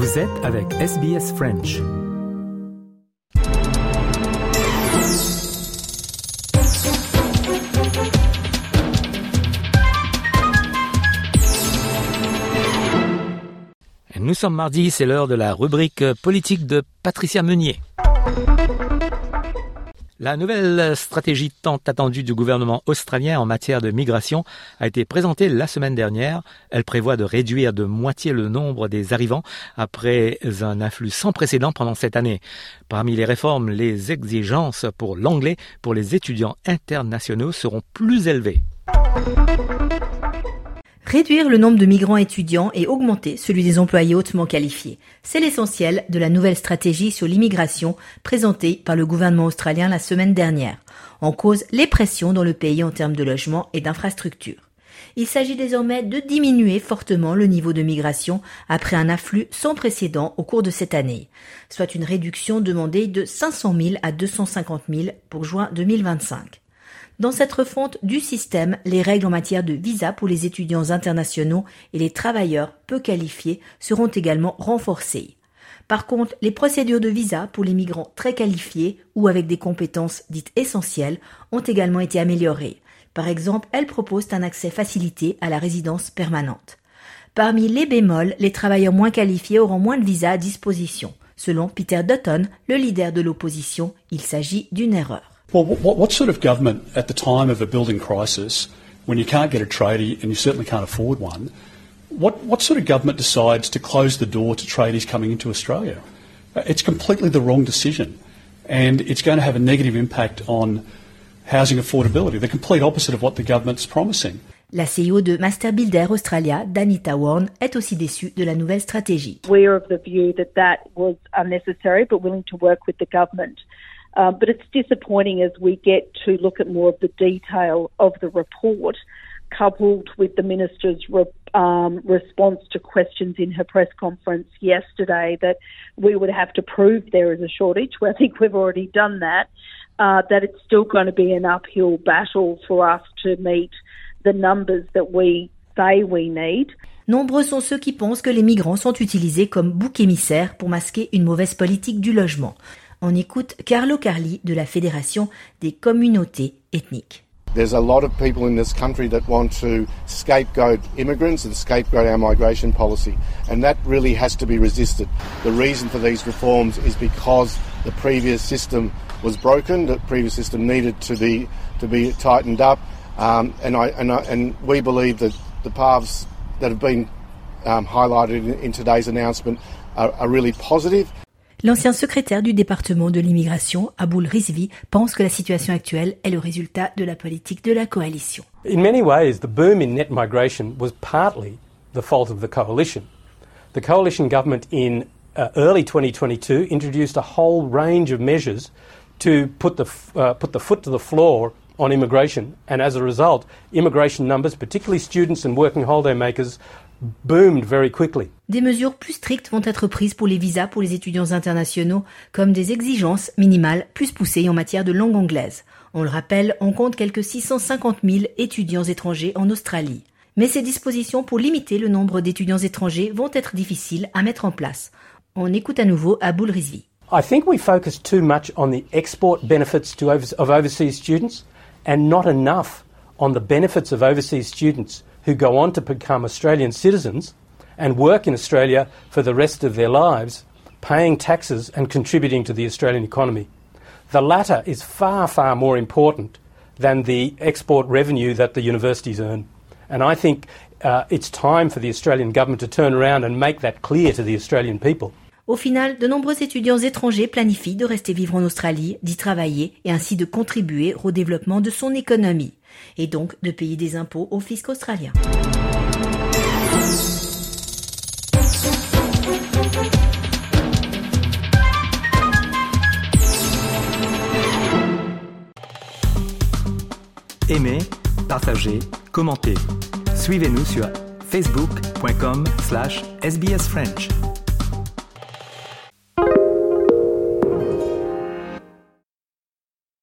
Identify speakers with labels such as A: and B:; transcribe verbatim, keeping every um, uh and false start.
A: Vous êtes avec S B S French. Nous sommes mardi, c'est l'heure de la rubrique politique de Patricia Meunier. La nouvelle stratégie tant attendue du gouvernement australien en matière de migration a été présentée la semaine dernière. Elle prévoit de réduire de moitié le nombre des arrivants après un afflux sans précédent pendant cette année. Parmi les réformes, les exigences pour l'anglais pour les étudiants internationaux seront plus élevées.
B: Réduire le nombre de migrants étudiants et augmenter celui des employés hautement qualifiés. C'est l'essentiel de la nouvelle stratégie sur l'immigration présentée par le gouvernement australien la semaine dernière. En cause, les pressions dans le pays en termes de logement et d'infrastructures. Il s'agit désormais de diminuer fortement le niveau de migration après un afflux sans précédent au cours de cette année, soit une réduction demandée de cinq cent mille à deux cent cinquante mille pour juin deux mille vingt-cinq. Dans cette refonte du système, les règles en matière de visa pour les étudiants internationaux et les travailleurs peu qualifiés seront également renforcées. Par contre, les procédures de visa pour les migrants très qualifiés ou avec des compétences dites essentielles ont également été améliorées. Par exemple, elles proposent un accès facilité à la résidence permanente. Parmi les bémols, les travailleurs moins qualifiés auront moins de visas à disposition. Selon Peter Dutton, le leader de l'opposition, il s'agit d'une erreur.
C: Well, what, what sort of government at the time of a building crisis, when you can't get a tradie and you certainly can't afford one, what, what sort of government decides to close the door to tradies coming into Australia? It's completely the wrong decision, and it's going to have a negative impact on housing affordability, the complete opposite of what the government's promising.
B: La C E O de Master Builder Australia, Danita Warren, est aussi déçue de la nouvelle stratégie.
D: We are of the view that that was unnecessary, but willing to work with the government. Uh, but it's disappointing as we get to look at more of the detail of the report, coupled with the Minister's re- um, response to questions in her press conference yesterday that we would have to prove there is a shortage. Well, I think we've already done that, uh, that it's still going to be an uphill battle for us to meet the numbers that we say we need.
B: Nombreux sont ceux qui pensent que les migrants sont utilisés comme bouc émissaire pour masquer une mauvaise politique du logement. On écoute Carlo Carli de la Fédération des communautés ethniques.
E: There's a lot of people in this country that want to scapegoat immigrants and scapegoat our migration policy, and that really has to be resisted. The reason for these reforms is because the previous system was broken, the previous system needed to be to be tightened up, um, and I and I, and we believe that the paths that have been um, highlighted in, in today's announcement are, are really positive.
B: L'ancien secrétaire du département de l'immigration, Aboul Rizvi, pense que la situation actuelle est le résultat de la politique de la coalition.
F: In many ways, the boom in net migration was partly the fault of the coalition. The coalition government in uh, early twenty twenty-two introduced a whole range of measures to put the uh, put the foot to the floor on immigration, and as a result, immigration numbers, particularly students and working holiday makers, boomed very quickly.
B: Des mesures plus strictes vont être prises pour les visas pour les étudiants internationaux, comme des exigences minimales plus poussées en matière de langue anglaise. On le rappelle, on compte quelques six cent cinquante mille étudiants étrangers en Australie. Mais ces dispositions pour limiter le nombre d'étudiants étrangers vont être difficiles à mettre en place. On écoute à nouveau Aboul Rizvi.
F: I think we focus too much on the export benefits to over- of overseas students and not enough on the benefits of overseas students who go on to become Australian citizens and work in Australia for the rest of their lives, paying taxes and contributing to the Australian economy. The latter is far, far more important than the export revenue that the universities earn. And I think uh, it's time for the Australian government to turn around and make that clear to the Australian people.
B: Au final, de nombreux étudiants étrangers planifient de rester vivre en Australie, d'y travailler et ainsi de contribuer au développement de son économie, et donc de payer des impôts au fisc australien.
A: Aimez, partagez, commentez. Suivez-nous sur facebook point com slash S B S French.